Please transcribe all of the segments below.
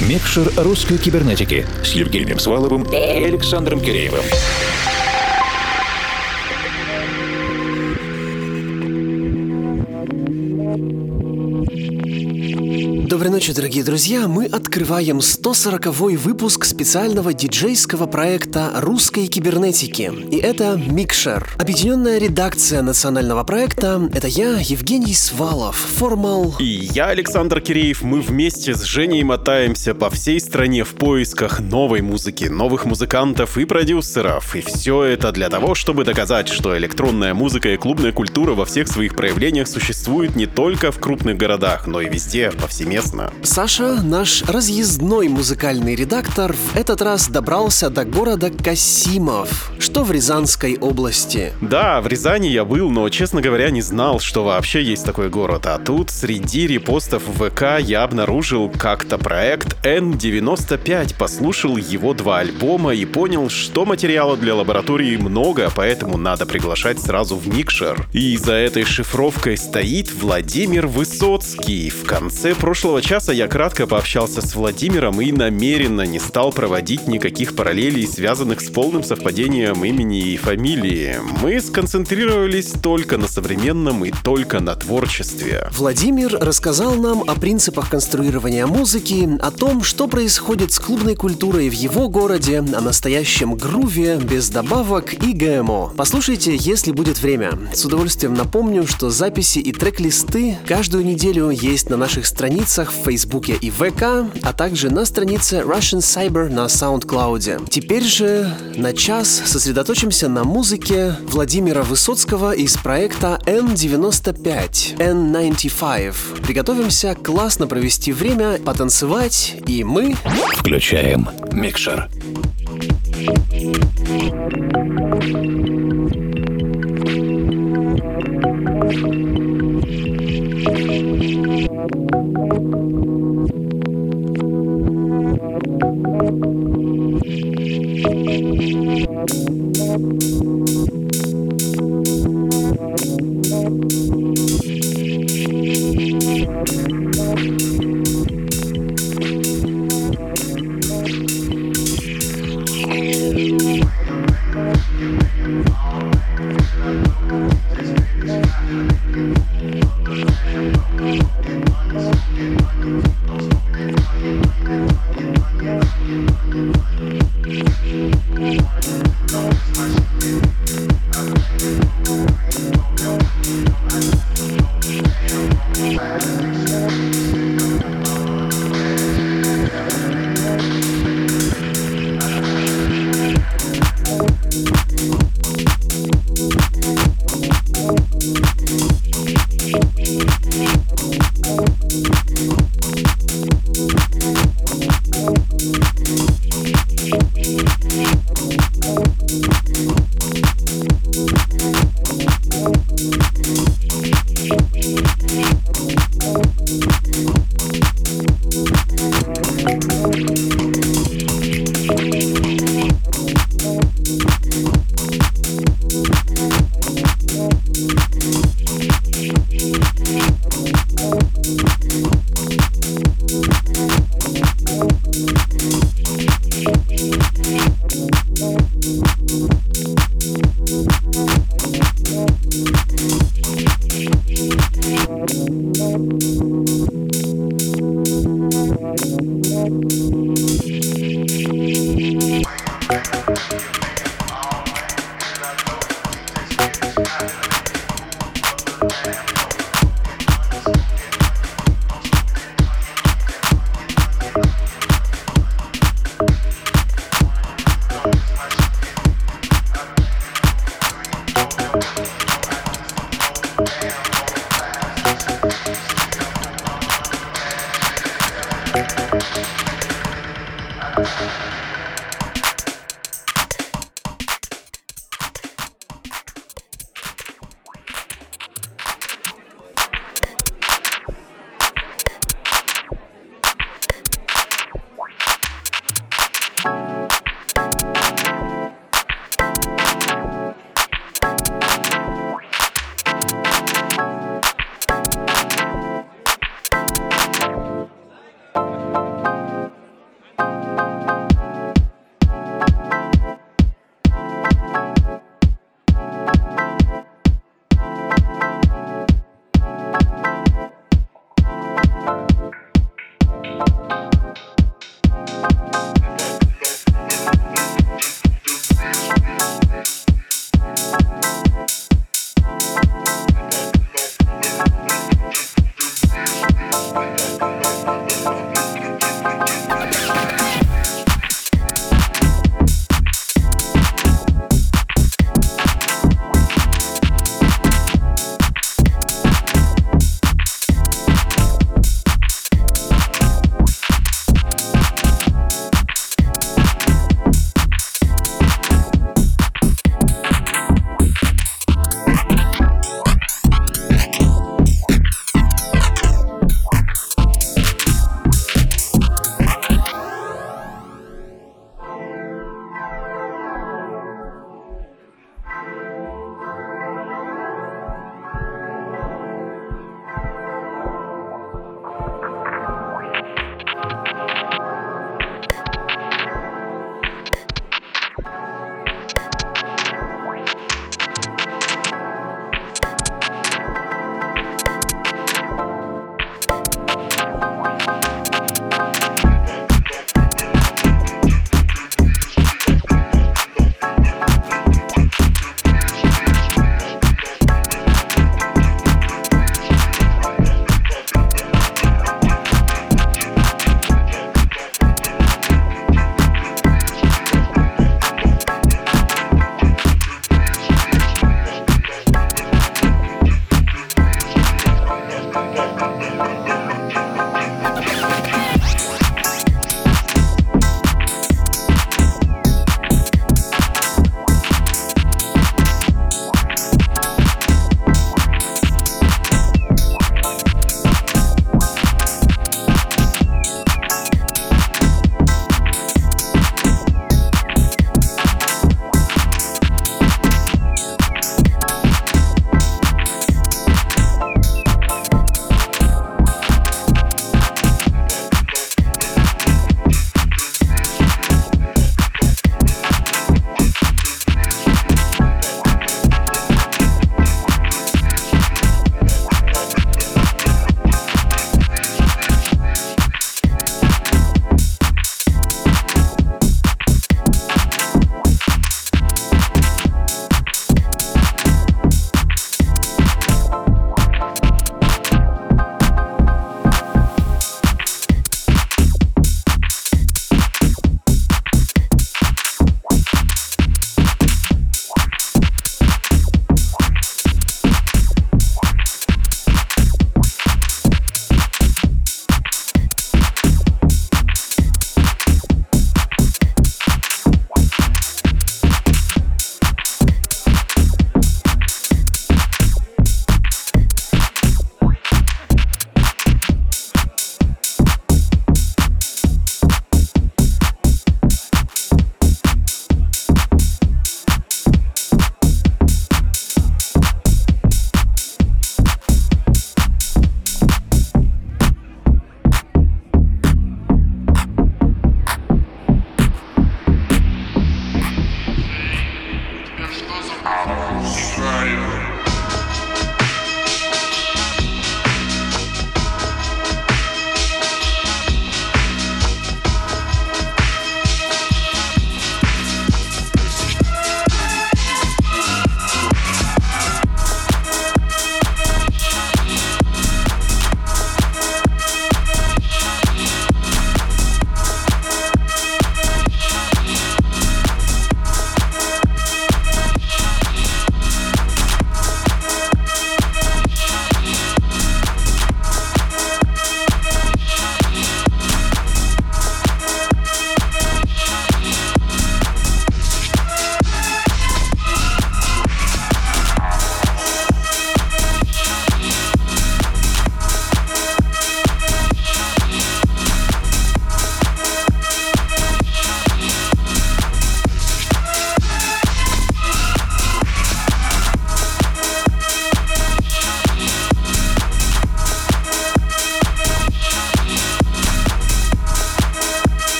Микшер русской кибернетики с Евгением Сваловым и Александром Киреевым. Доброй ночи, дорогие друзья! Мы открываем 140-й выпуск специального диджейского проекта русской кибернетики. И это Микшер. Объединенная редакция национального проекта — это я, Евгений Свалов, Формал. И я, Александр Киреев. Мы вместе с Женей мотаемся по всей стране в поисках новой музыки, новых музыкантов и продюсеров. И все это для того, чтобы доказать, что электронная музыка и клубная культура во всех своих проявлениях существует не только в крупных городах, но и везде, повсеместно. Саша, наш разъездной музыкальный редактор, в этот раз добрался до города Касимов, что в Рязанской области. Да, в Рязани я был, но, честно говоря, не знал, что вообще есть такой город. А тут среди репостов в ВК я обнаружил как-то проект N95, послушал его 2 альбома и понял, что материала для лаборатории много, поэтому надо приглашать сразу в Микшер. И за этой шифровкой стоит Владимир Высоцкий. В конце прошлого часа я кратко пообщался с Владимиром и намеренно не стал проводить никаких параллелей, связанных с полным совпадением имени и фамилии. Мы сконцентрировались только на современном и только на творчестве. Владимир рассказал нам о принципах конструирования музыки, о том, что происходит с клубной культурой в его городе, о настоящем груве, без добавок и ГМО. Послушайте, если будет время. С удовольствием напомню, что записи и трек-листы каждую неделю есть на наших страницах в Фейсбуке и ВК, а также на странице Russian Cyber на SoundCloud. Теперь же на час сосредоточимся на музыке Владимира Высоцкого из проекта N95. N95. Приготовимся классно провести время, потанцевать, и мы Включаем Микшер.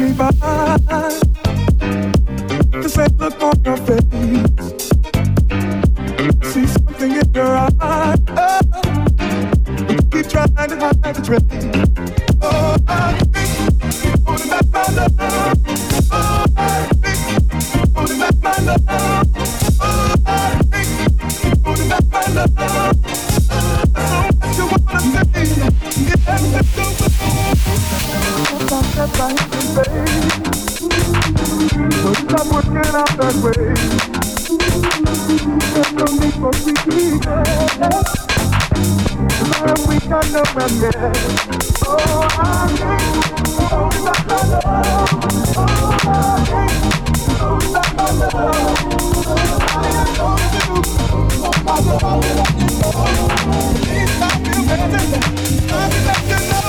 me by. The same look on your face. See something in your eyes. Oh, you keep trying to hide the trace. Oh, I think you're holding back my love. Oh, I think you're holding back my love. Oh, I think you're holding back my love. So what you wanna say? Yeah, let's go. Stop right, baby. So stop working out that way. There's no need for sweet. Love, we got no romance. Oh, I think hold back my love. Oh, I think hold back my love. I am going to hold my love. Please stop you, baby. I'll let you know.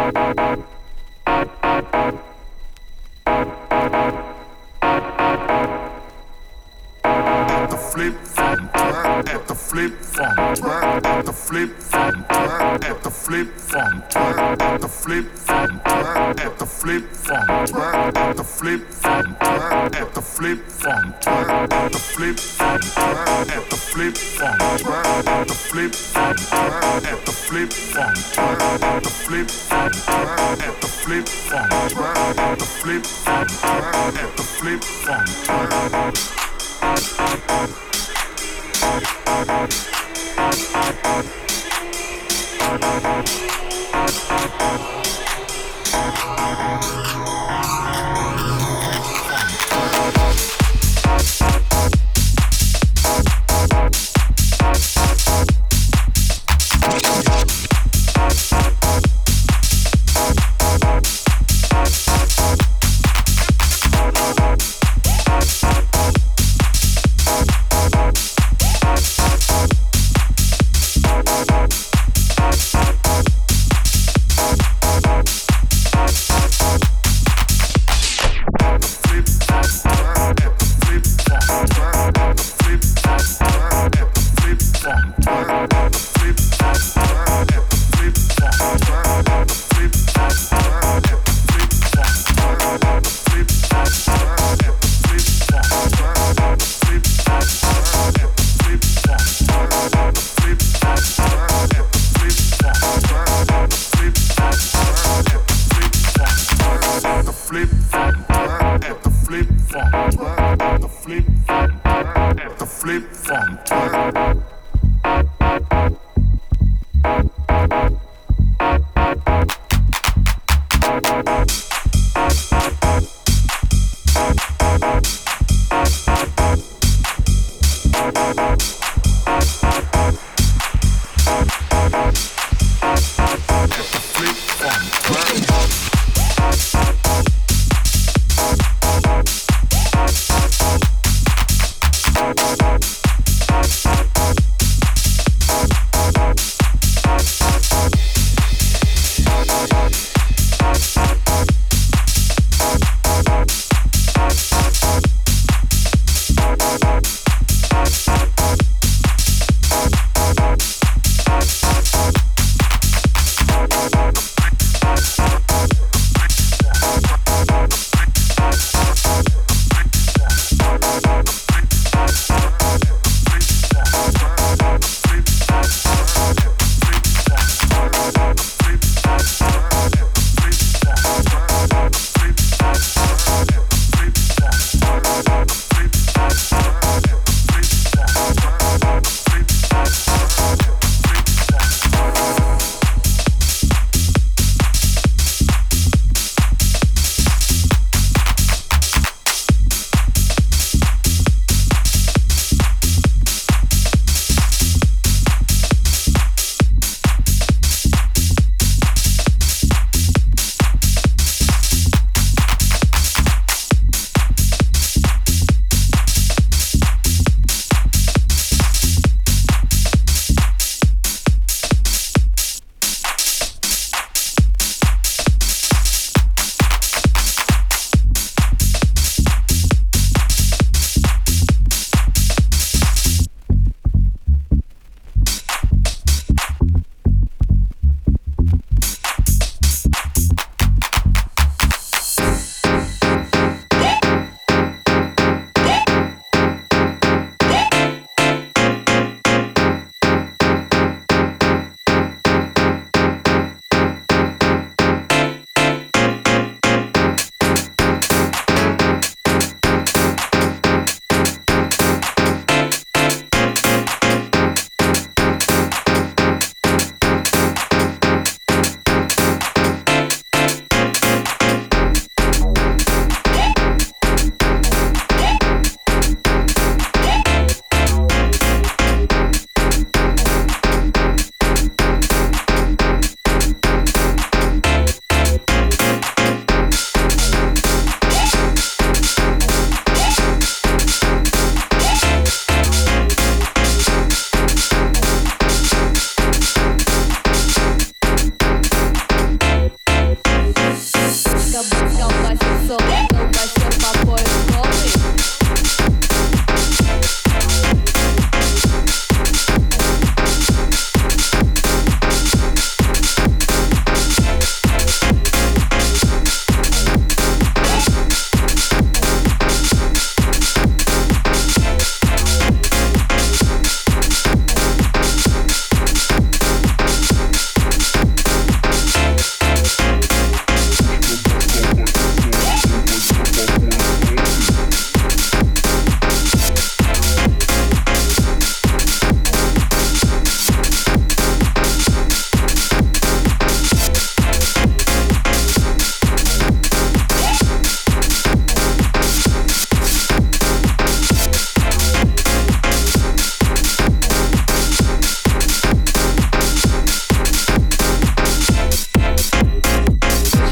flip phone track at the flip phone track at the flip phone track at the flip phone track at the flip phone track at the flip phone track at the flip phone track at the flip phone track at the flip phone track at the flip phone track at the flip phone track at the flip phone track at the flip phone track at the flip phone track at the flip phone track at the flip phone track.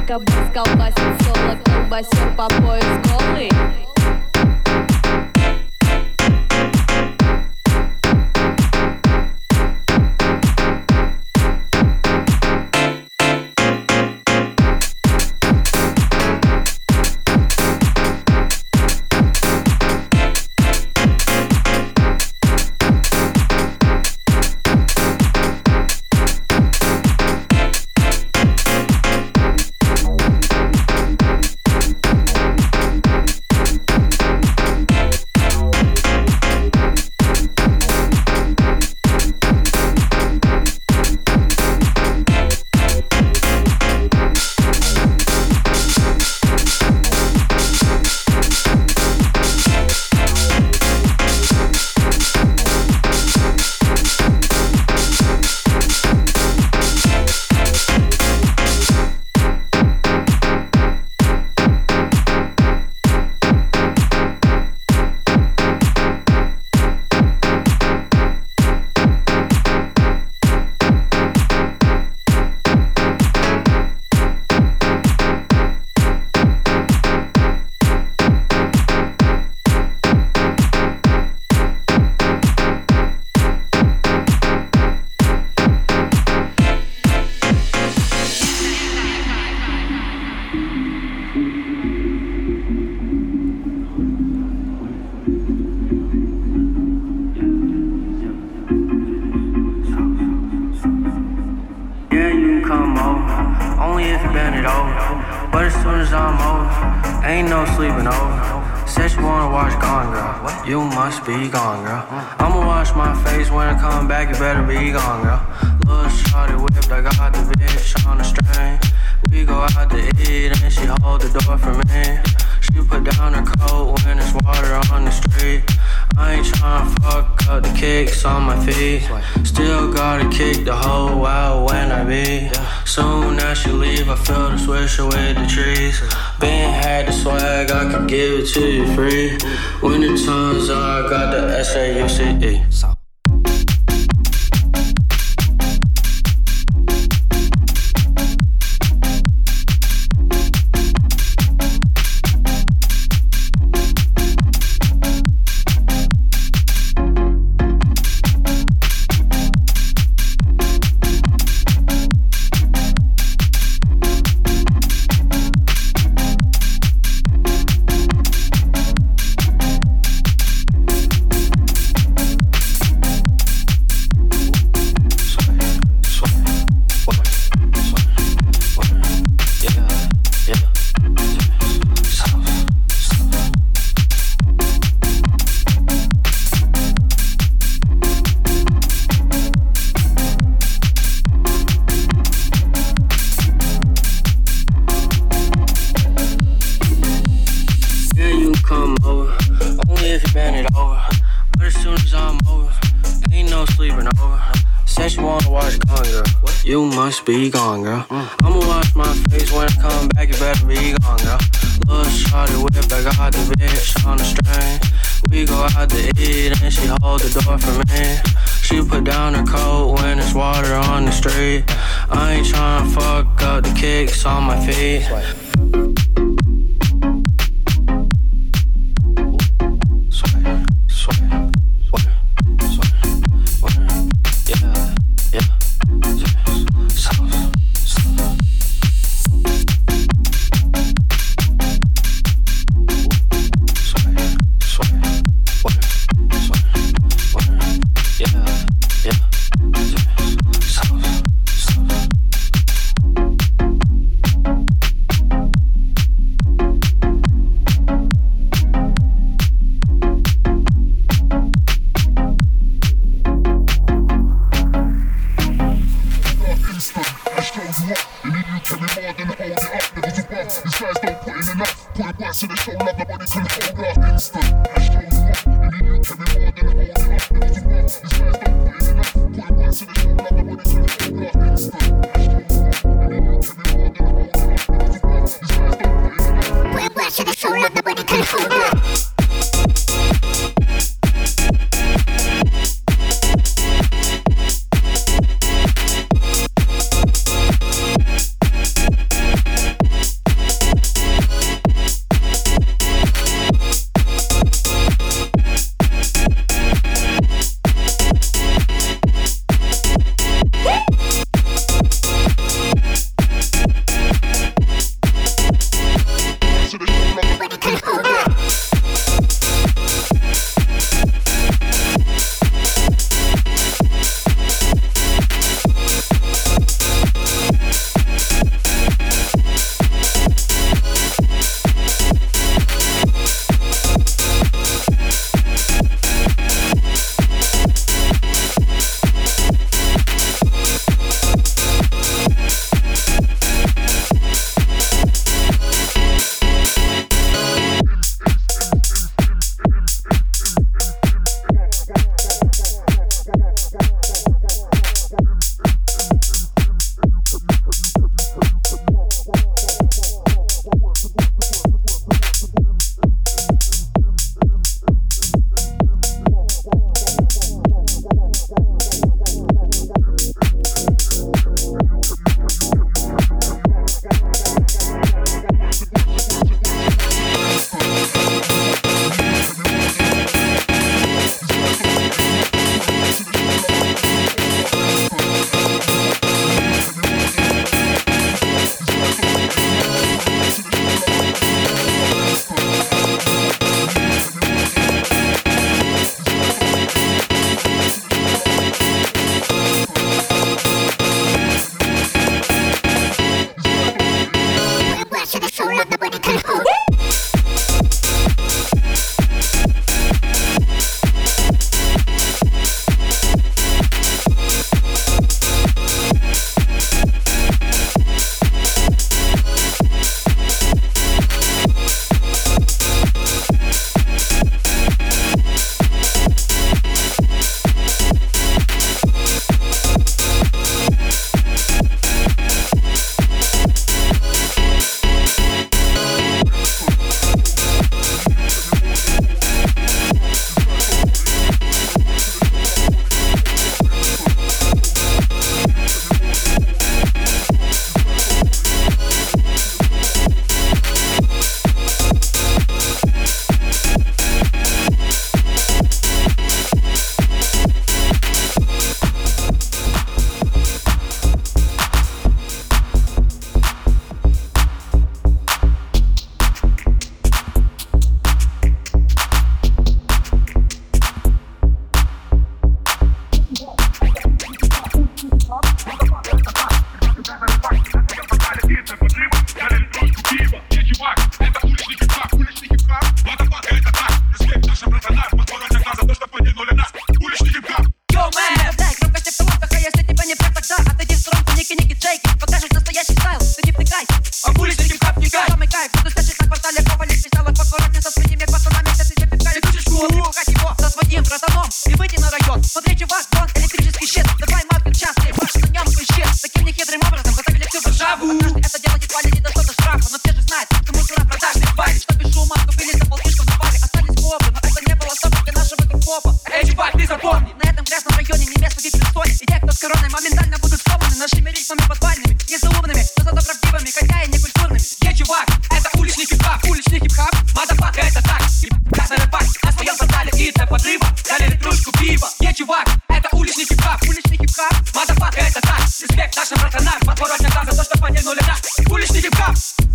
кабас колбасит соло, колбасер по пояс голый. You must be gone, girl. I'ma wash my face when I come back, you better be gone, girl. Little shawty whipped, I got the bitch on the string. We go out to eat and she hold the door for me. She put down her coat when there's water on the street. I ain't tryna fuck up the kicks on my feet. Still gotta kick the hoe out when I be. Soon as she leave, I feel the swisher with the trees. Been had the swag, I could give it to you free. When the time's up, I got the SAUCE. You must be gone, girl. I'ma wash my face when I come back, you better be gone, girl. Little shawty whipped, I got the bitch on the string. We go out to eat and she hold the door for me. She put down her coat when there's water on the street. I ain't tryna fuck up the kicks on my feet. So they show love, nobody can hold up. Instant, I show you up, and then you carry more than hold it up. These guys don't put in enough. Put it back so they show love, nobody can hold up. Instant, I show you up, and then you carry more than hold it up. These guys don't put in enough. Put it back so they show love, nobody can hold up. это дело едва ли не до что-то штрафа. Но все же знают, что мусора продажные твари, что без шума вступили за полтишком на баре. Остались копы, но это не было особо для нашего хип-хопа. Эй, чувак, ты запомни, на этом грязном районе не место ведь престоле. И те, кто с короной, моментально будут сломаны нашими ритмами подвальными. Не заумными, но зато правдивыми, хотя и не культурными. Ей, чувак, это уличный хип-хап, уличный хип-хап. Мазафака, это так, хип-хап на рэпак. На своем портале и для подрыва дали литрушку пива. Ей, чувак, это уличный хип-хап, уличный хип-хап. Мазафака, это так, респект нашим братанам. Подворотня там за то, что потянули нас. Уличный хип-хап.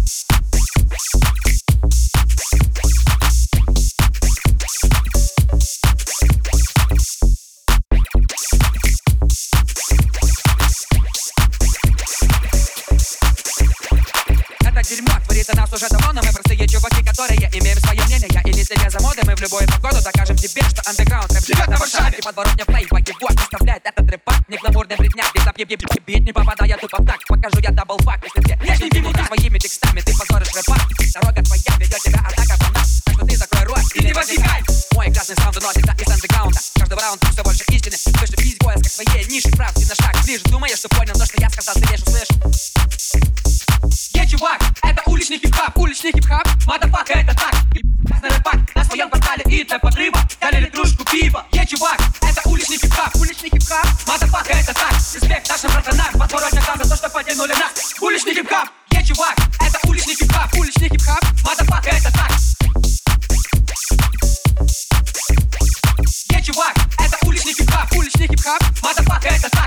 Дерьмо творится нас уже давно, но мы простые чуваки, которые имеем свое мнение. И не следя за модой, мы в любую погоду докажем тебе, что андеграунд рэп живет на Варшаве. И подворотня плейба его составляет этот рэп-пак. Не гламурный бритняк, без бит не попадая тупо в такт. Покажу я даблфак, если все нежненький мудак. Своими текстами ты позоришь рэп-пак. Дорога твоя ведет тебя, атака по нас. Так что ты закрой рот и не возникай. Мой красный саунд доносится из андеграунда. Каждого раунда все больше истины. Слышишь весь поиск своей ниши, правди на шаг ближе. Думаешь, что понял то, что я сказал, ты лишь услышал. Ей, чувак, это уличный хип-хап, уличный хип-хап. Мазафака, это так, красный рэпак. На своем портале и для подрыва дали литрушку пива. Ей, чувак, это уличный хип-хап, уличный хип-хап. Мазафака, это так, респект нашим братанам. Подворотня там за то, что потянули нас. Уличный хип-хап. Ей, чувак, это уличный хип-хап, уличный хип-хап. Мазафака, это так. Ей, чувак, это уличный хип-хап, уличный хип-хап. Мазафака, это так.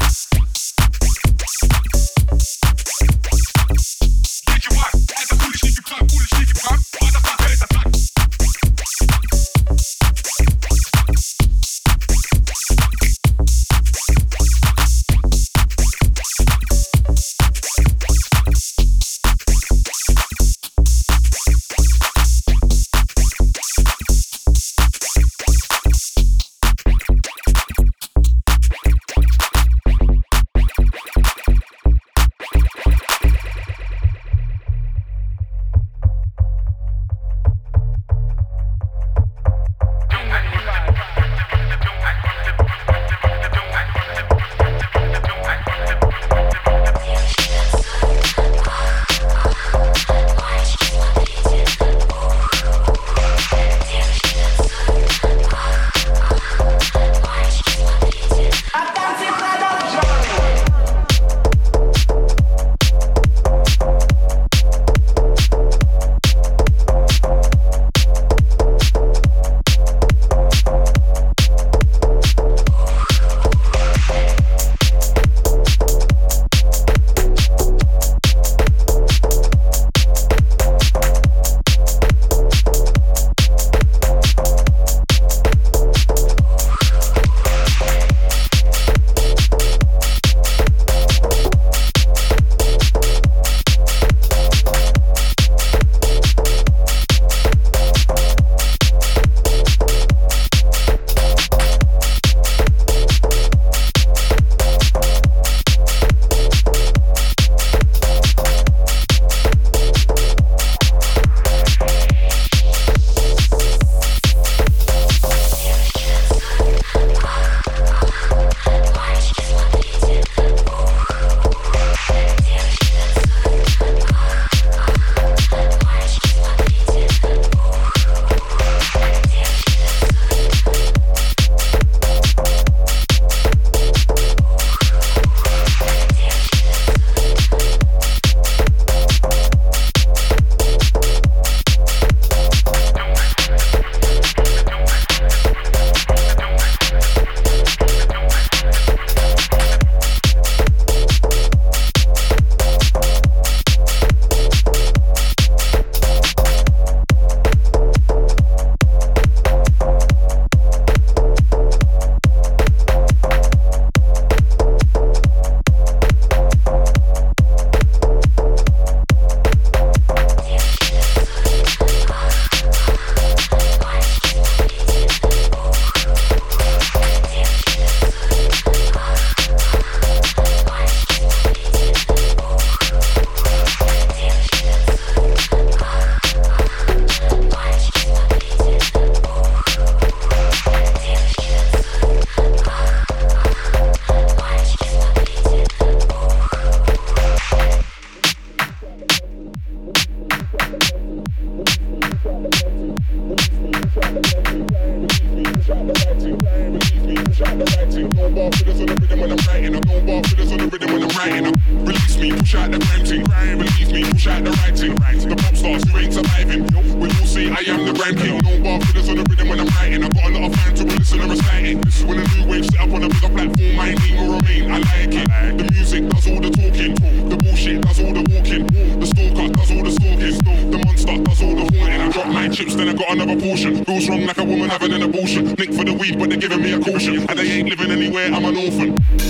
bar fillers on the rhythm when I'm writing. I no bar fillers on the rhythm when I'm writing. Release me, push out the crime thing. Release me, push out the writing. The pop stars who ain't surviving. When you say I am the rhyme king. No bar fillers on the rhythm when I'm writing. I got a lot of fans to listen and reciting. When a new wave set up on a bigger platform, my name will remain. I like it. The music does all the talking. The bullshit does all the walking. The stalker does all the stalking. The monster does all the haunting. I drop 9 chips, then I got another portion. Feels wrong like a woman having an abortion. Nick for the weed, but they're giving me a caution. And they ain't living anywhere, I'm an orphan.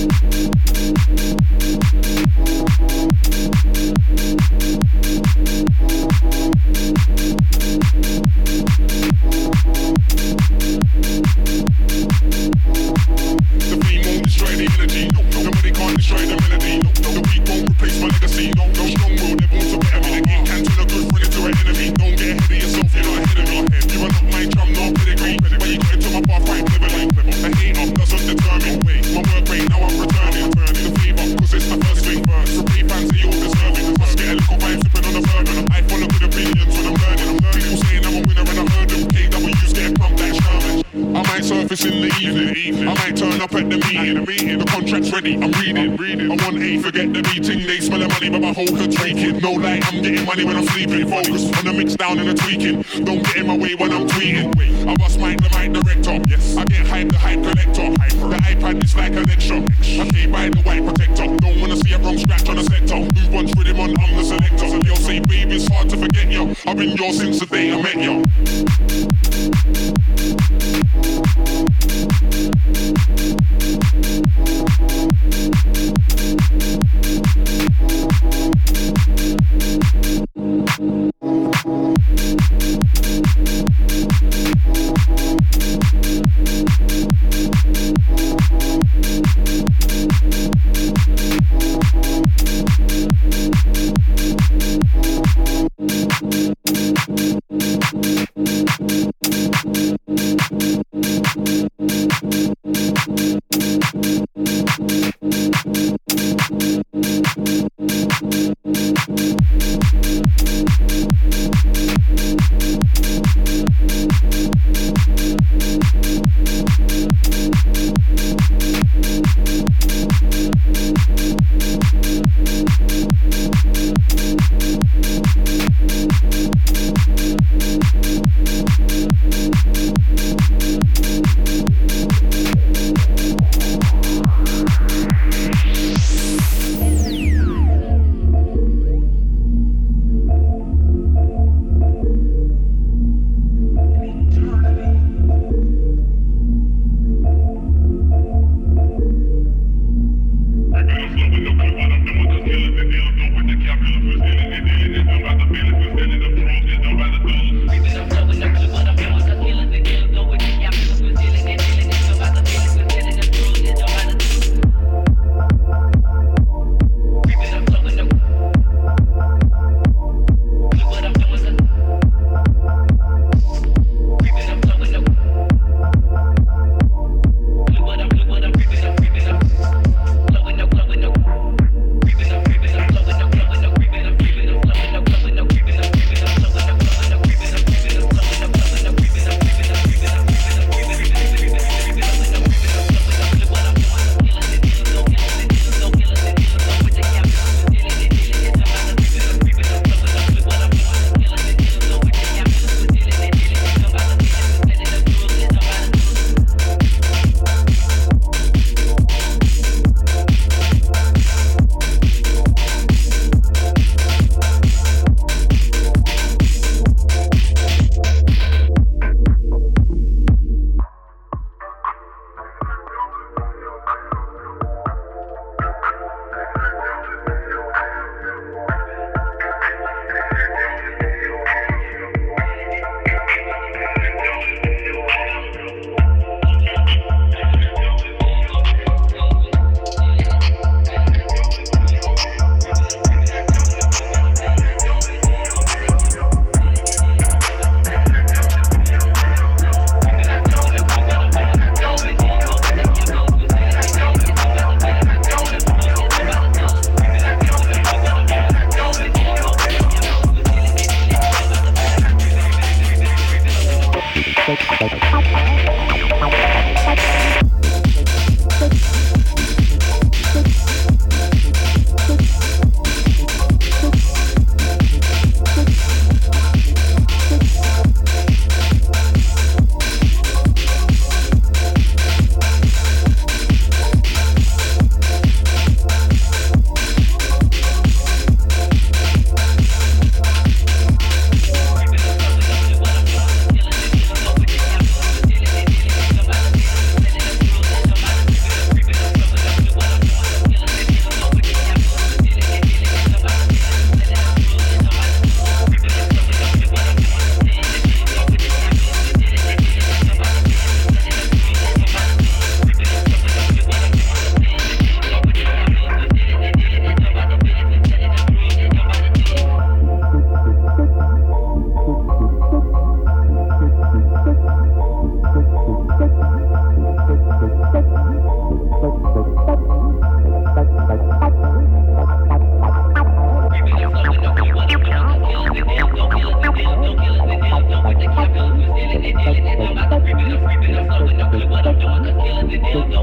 The fame won't destroy the energy. Nobody can't destroy the melody. The weak won't replace my legacy. No strong will, they're born to better me. The game can turn a good friend into an enemy. Don't get ahead of yourself, you're not ahead of me. You are not my drum, no pedigree. But you got into my path quite cleverly. A hater doesn't determine my work rate, now I'm returning. The favour, cause it's the first thing first. So pay fans say you're deserving. Must get a little vibe sipping on the burden. I follow good opinions when I'm learning. People saying I'm a winner and I heard them. KW's getting pumped like Sherman. I might surface in the evening. I might turn up at the meeting. The contract's ready, I'm reading. I want A, forget the meeting. They smell the money, but my whole head's raking. No light, I'm getting money when I'm sleeping. Focus on the mix down and the tweaking. Don't get in my way when I'm tweeting. I bust mic, the mic director. Yes, I get hype, the hype collector. The iPad is like a lecture. I stay by the white protector. Don't wanna see a wrong scratch on a sector. Who wants rhythm on, I'm the selector. You'll say, baby, it's hard to forget you. I've been yours since the day I met you.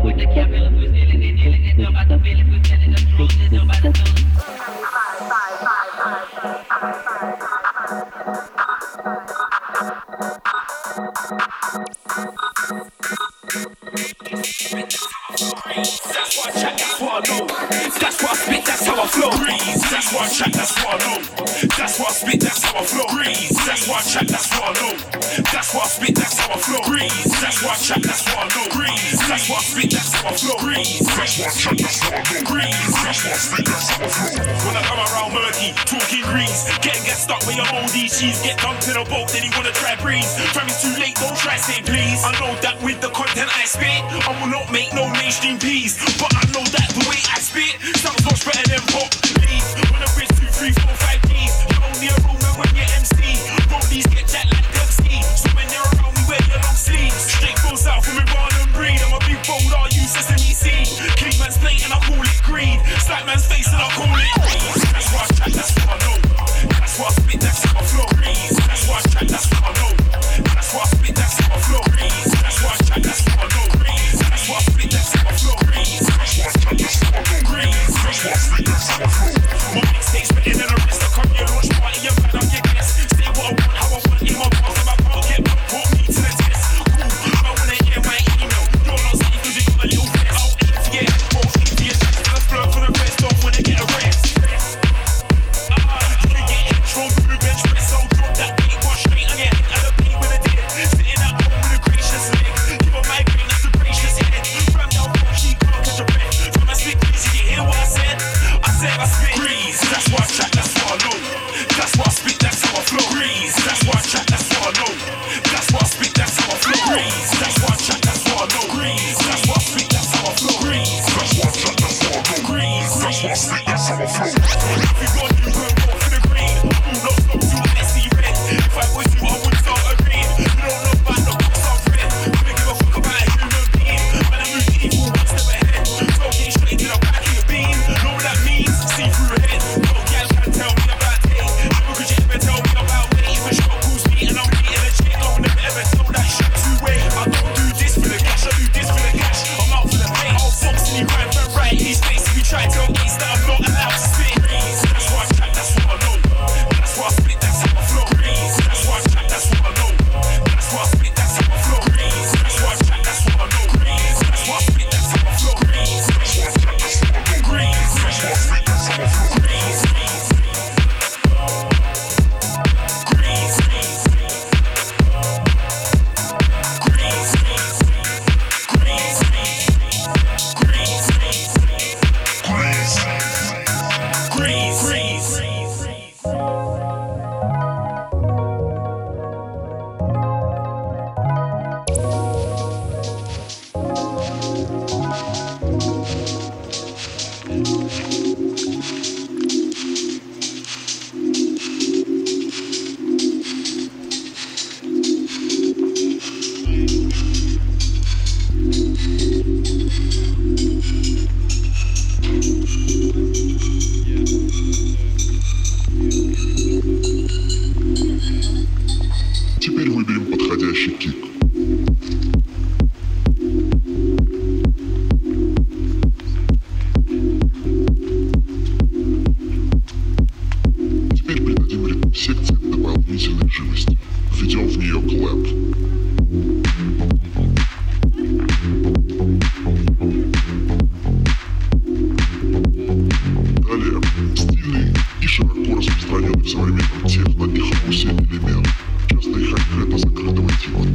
When I come around murky, talking greens, getting get stuck with your moldy cheese, get dumped in a boat, then you wanna try breeze. Fam, it's too late, don't try say please. I know that with the content I spit, I will not make no mainstream peas, but I know that the way I spit sounds much better than pop. Please, when I bridge 2, 3, 4, 5 Gs, you only a roller when you're MC. Rollies get jacked like Pepsi, so when you're around me, wear your long sleeves. Straight goes out from me, born and breed. I'm a big bold, I'll use sesame seed. Clean man's plate and I call it greed. Slap man's face and I call it greed. That's why I chat, that's what I know. That's why I spit, that's how I flow. That's why I chat, that's what I know. That's why I spit, that's how I flow. That's why I chat, that's what I know. That's why I spit, that's how I flow. That's why I chat, that's what I know. That's why I spit, that's how I flow. My mixtape's better than a rest. I come here, launch party, and man, I'm your guest. Say what I want, how I want, in my bars, and my can't get back. Put me to the test. Cool, I wanna hear my email. You're not safe because you got a little vest. I'll aim for your head, won't aim for your chest. And I flirt for the rest, don't wanna get a rest. You can get intro through bench press. I'll drop that beat, go straight on your head. And a beat with a dick. Sitting at home with a gracious leg. Give a migraine, that's a gracious head. Ram down, she can't catch a breath. From a spit grease, you hear what I said? I spit grease, that's why I chat, that's what I know. That's why I spit, that's how I flow. Grease, that's why I chat, that's what I know. That's why I spit, that's how I flow. Grease, that's why I chat, that's what I know. Grease, that's why I spit, that's how I flow. Grease, that's why I chat, that's what I know. Grease, that's why I spit, that's how I flow. If you got you, go vote for the green. All not stop to a SC red. If I was you, I would start agreeing. You don't know about the books I've read. Couldn't give a fuck about a human being. Man, I move evil one step ahead. So get straight to the back of your beam. Know what that means? See through your head. No gal can tell me about tape. Never could you ever tell me about weight. If a shot calls me and I'm beating a chick, I would never ever tell that shit to wait. I don't do this for the cash, I do this for the cash. I'm out for the pay. I'll fox and he grind for right in his face. If you try to tell Ace that I'm not allowed to spit. That's why I chat, that's what I know. That's why I spit, that's how I flow. That's why I chat, that's what I know. That's why I spit, that's how I flow. That's why I chat, that's what I know. That's why I spit, that's how I flow. That's why I chat, that's what I know. That's why I spit, that's how I flow. Теперь выберем подходящий кик. Теперь придадим ритм секции дополнительной живости. Введем в нее клэп. Далее, стильный и широко распространенный в современном техно и хаусе элемент. Частный хай-хэта закрытого типа.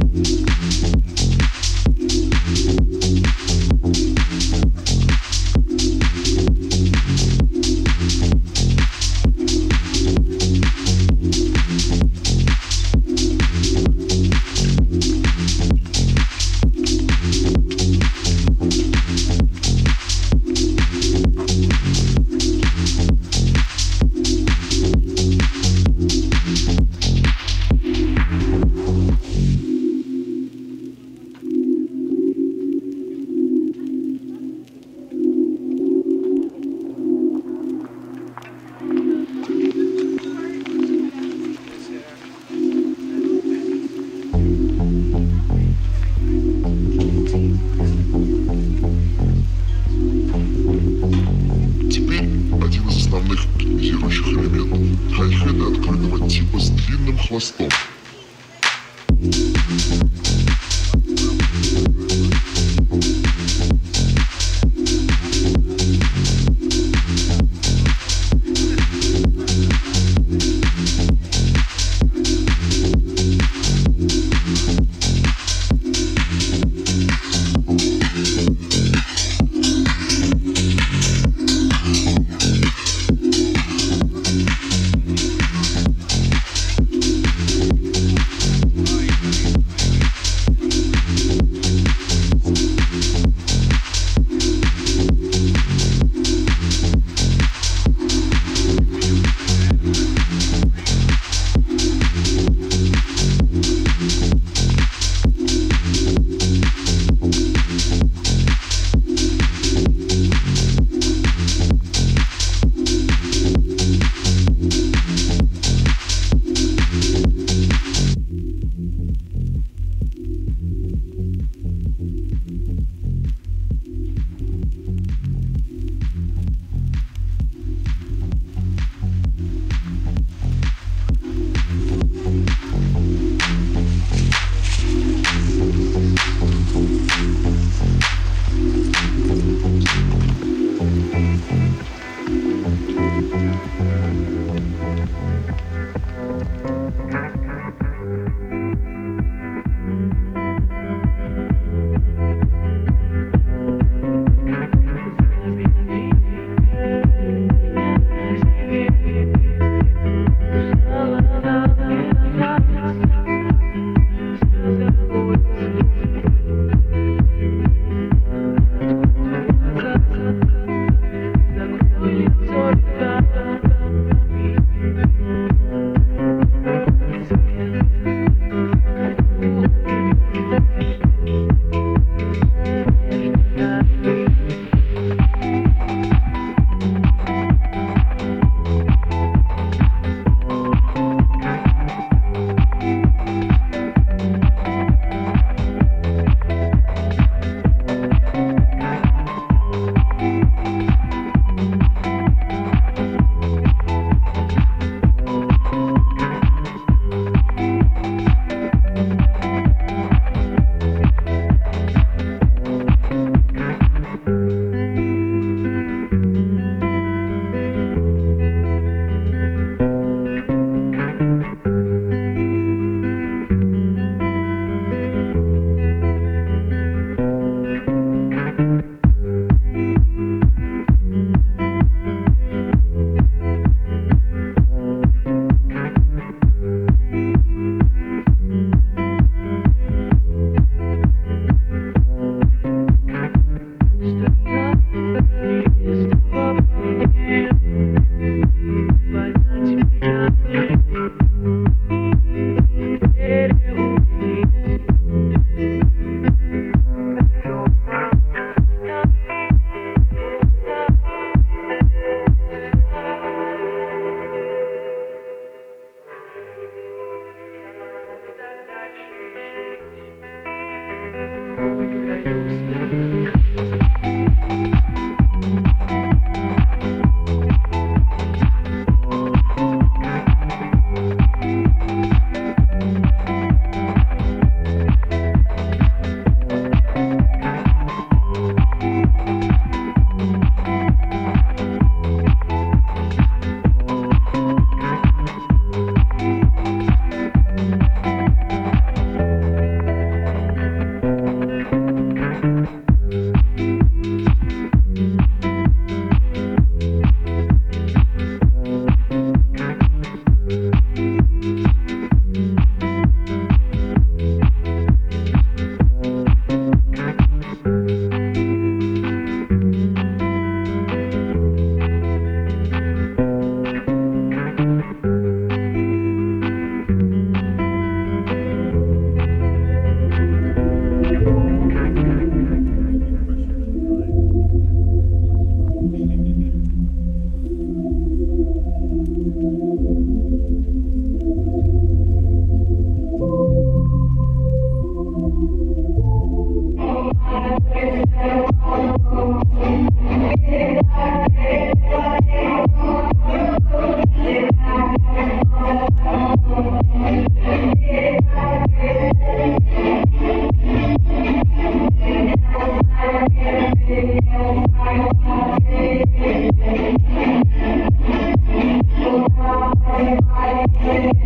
хвостом.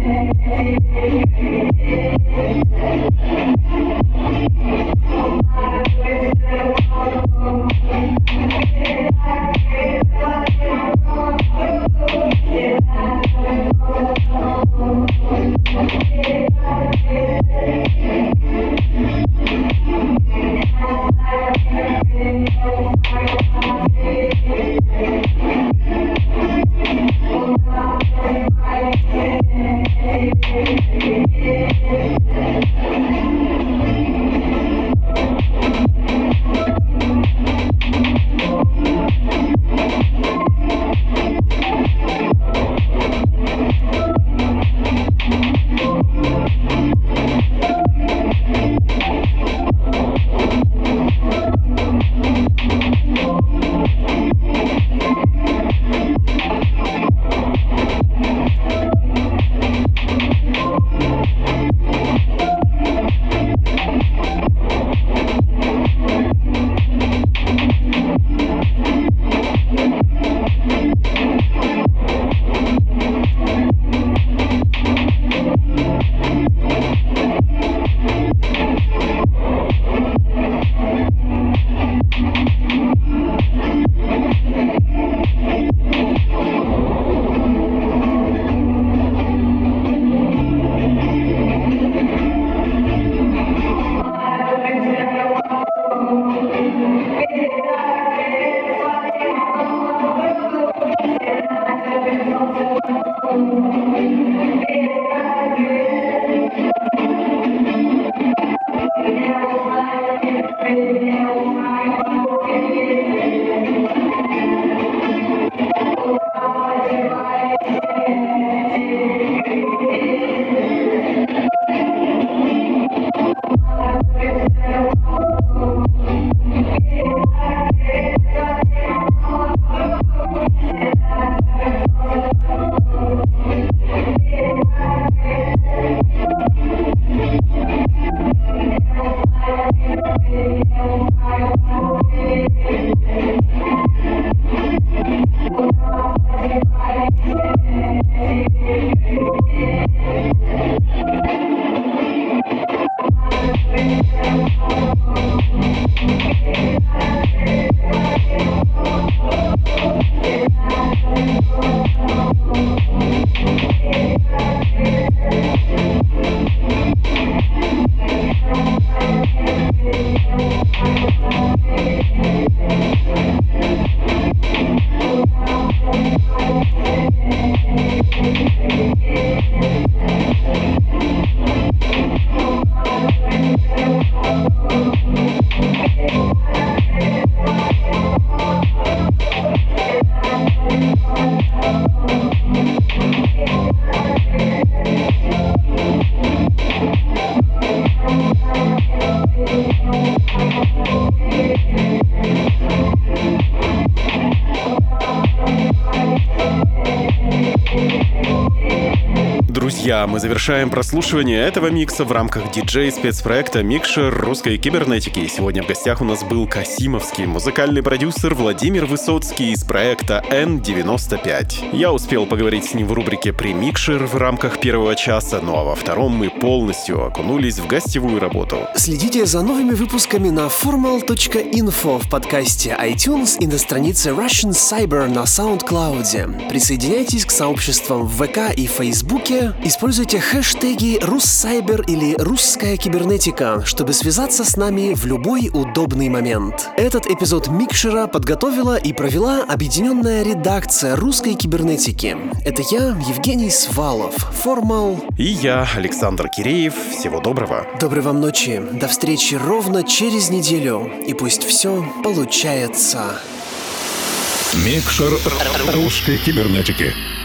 Друзья, мы завершаем прослушивание этого микса в рамках диджей-спецпроекта «Микшер русской кибернетики». Сегодня в гостях у нас был касимовский музыкальный продюсер Владимир Высоцкий из проекта N95. Я успел поговорить с ним в рубрике «Премикшер» в рамках первого часа, ну а во втором мы полностью окунулись в гостевую работу. Следите за новыми выпусками на formal.info в подкасте iTunes и на странице Russian Cyber на SoundCloud. Присоединяйтесь к сообществам в ВК и Фейсбуке. Используйте хэштеги «Руссайбер» или «Русская кибернетика», чтобы связаться с нами в любой удобный момент. Этот эпизод Микшера подготовила и провела объединенная редакция русской кибернетики. Это я, Евгений Свалов, Формал. И я, Александр Киреев. Всего доброго. Доброй вам ночи. До встречи ровно через неделю. И пусть все получается. Микшер русской кибернетики.